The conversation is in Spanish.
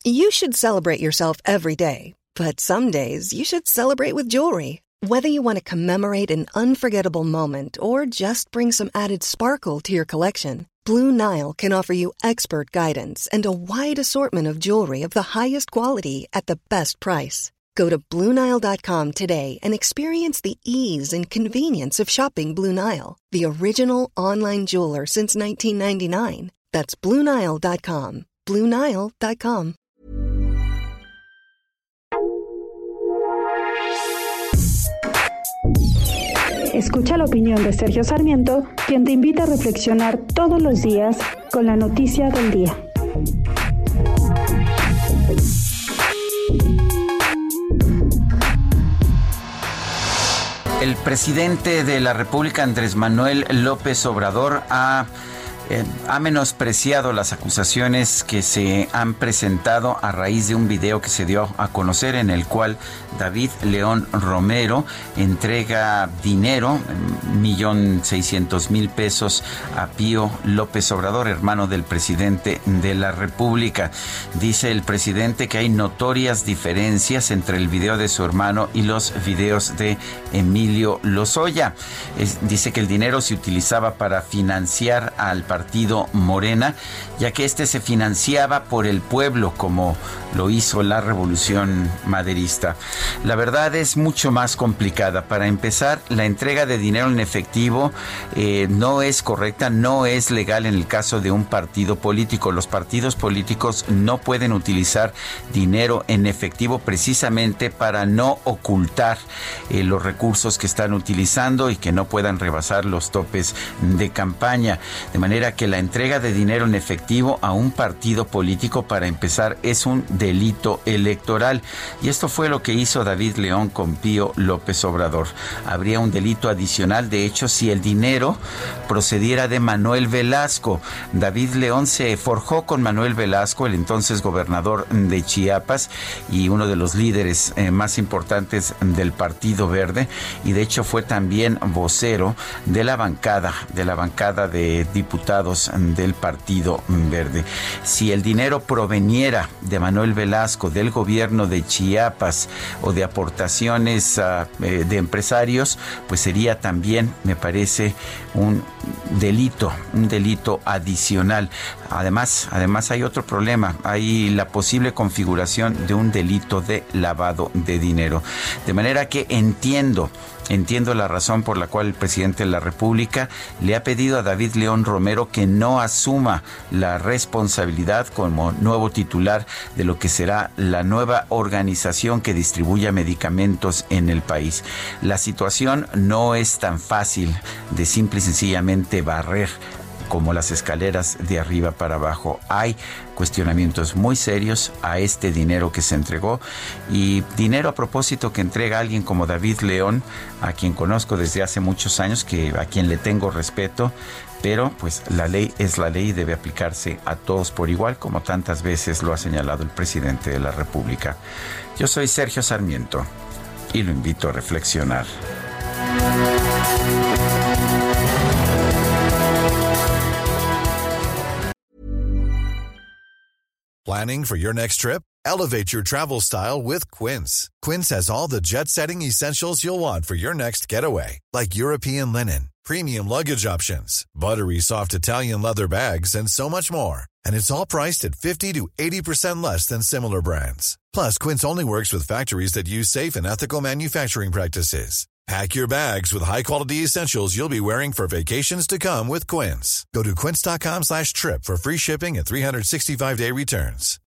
You should celebrate yourself every day, but some days you should celebrate with jewelry. Whether you want to commemorate an unforgettable moment or just bring some added sparkle to your collection, Blue Nile can offer you expert guidance and a wide assortment of jewelry of the highest quality at the best price. Go to BlueNile.com today and experience the ease and convenience of shopping Blue Nile, the original online jeweler since 1999. That's BlueNile.com. BlueNile.com. Escucha la opinión de Sergio Sarmiento, quien te invita a reflexionar todos los días con la noticia del día. El presidente de la República, Andrés Manuel López Obrador, ha menospreciado las acusaciones que se han presentado a raíz de un video que se dio a conocer en el cual David León Romero entrega dinero, 1,600,000 pesos, a Pío López Obrador, hermano del presidente de la República. Dice el presidente que hay notorias diferencias entre el video de su hermano y los videos de Emilio Lozoya. Dice que el dinero se utilizaba para financiar al partido Morena, ya que este se financiaba por el pueblo, como lo hizo la Revolución Maderista. La verdad es mucho más complicada. Para empezar, la entrega de dinero en efectivo no es correcta, no es legal en el caso de un partido político. Los partidos políticos no pueden utilizar dinero en efectivo precisamente para no ocultar los recursos que están utilizando y que no puedan rebasar los topes de campaña. De manera que la entrega de dinero en efectivo a un partido político, para empezar, es un delito electoral. Y esto fue lo que hizo David León con Pío López Obrador. Habría un delito adicional, de hecho, si el dinero procediera de Manuel Velasco. David León se forjó con Manuel Velasco, el entonces gobernador de Chiapas y uno de los líderes más importantes del Partido Verde, y de hecho fue también vocero de la bancada de diputados del Partido Verde. Si el dinero proveniera de Manuel Velasco, del gobierno de Chiapas, o de aportaciones de empresarios, pues sería también, me parece, un delito adicional. Además hay otro problema, hay la posible configuración de un delito de lavado de dinero. De manera que entiendo la razón por la cual el presidente de la República le ha pedido a David León Romero que no asuma la responsabilidad como nuevo titular de lo que será la nueva organización que distribuya medicamentos en el país. La situación no es tan fácil de simple y sencillamente barrer como las escaleras de arriba para abajo. Hay cuestionamientos muy serios a este dinero que se entregó, y dinero, a propósito, que entrega alguien como David León, a quien conozco desde hace muchos años, a quien le tengo respeto, pero pues la ley es la ley y debe aplicarse a todos por igual, como tantas veces lo ha señalado el presidente de la República. Yo soy Sergio Sarmiento y lo invito a reflexionar. Planning for your next trip? Elevate your travel style with Quince. Quince has all the jet-setting essentials you'll want for your next getaway, like European linen, premium luggage options, buttery soft Italian leather bags, and so much more. And it's all priced at 50 to 80% less than similar brands. Plus, Quince only works with factories that use safe and ethical manufacturing practices. Pack your bags with high-quality essentials you'll be wearing for vacations to come with Quince. Go to quince.com/trip for free shipping and 365-day returns.